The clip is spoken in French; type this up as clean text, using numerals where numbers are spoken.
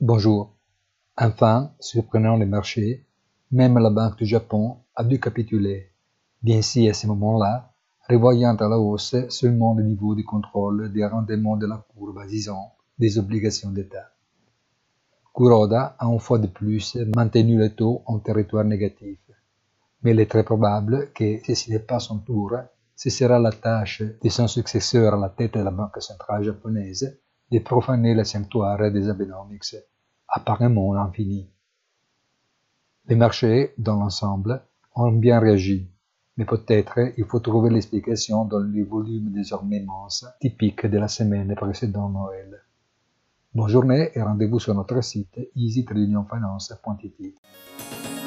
Bonjour. Enfin, surprenant les marchés, même la Banque du Japon a dû capituler, bien si à ce moment-là, revoyant à la hausse seulement le niveau de contrôle des rendements de la courbe, disons, des obligations d'État. Kuroda a une fois de plus maintenu le taux en territoire négatif, mais il est très probable que, si ce n'est pas son tour, ce sera la tâche de son successeur à la tête de la Banque centrale japonaise de profaner le sanctuaire des Abenomics, apparemment infini. Les marchés, dans l'ensemble, ont bien réagi, mais peut-être il faut trouver l'explication dans le volume désormais immense, typique de la semaine précédant Noël. Bonne journée et rendez-vous sur notre site easytradeunionfinance.it.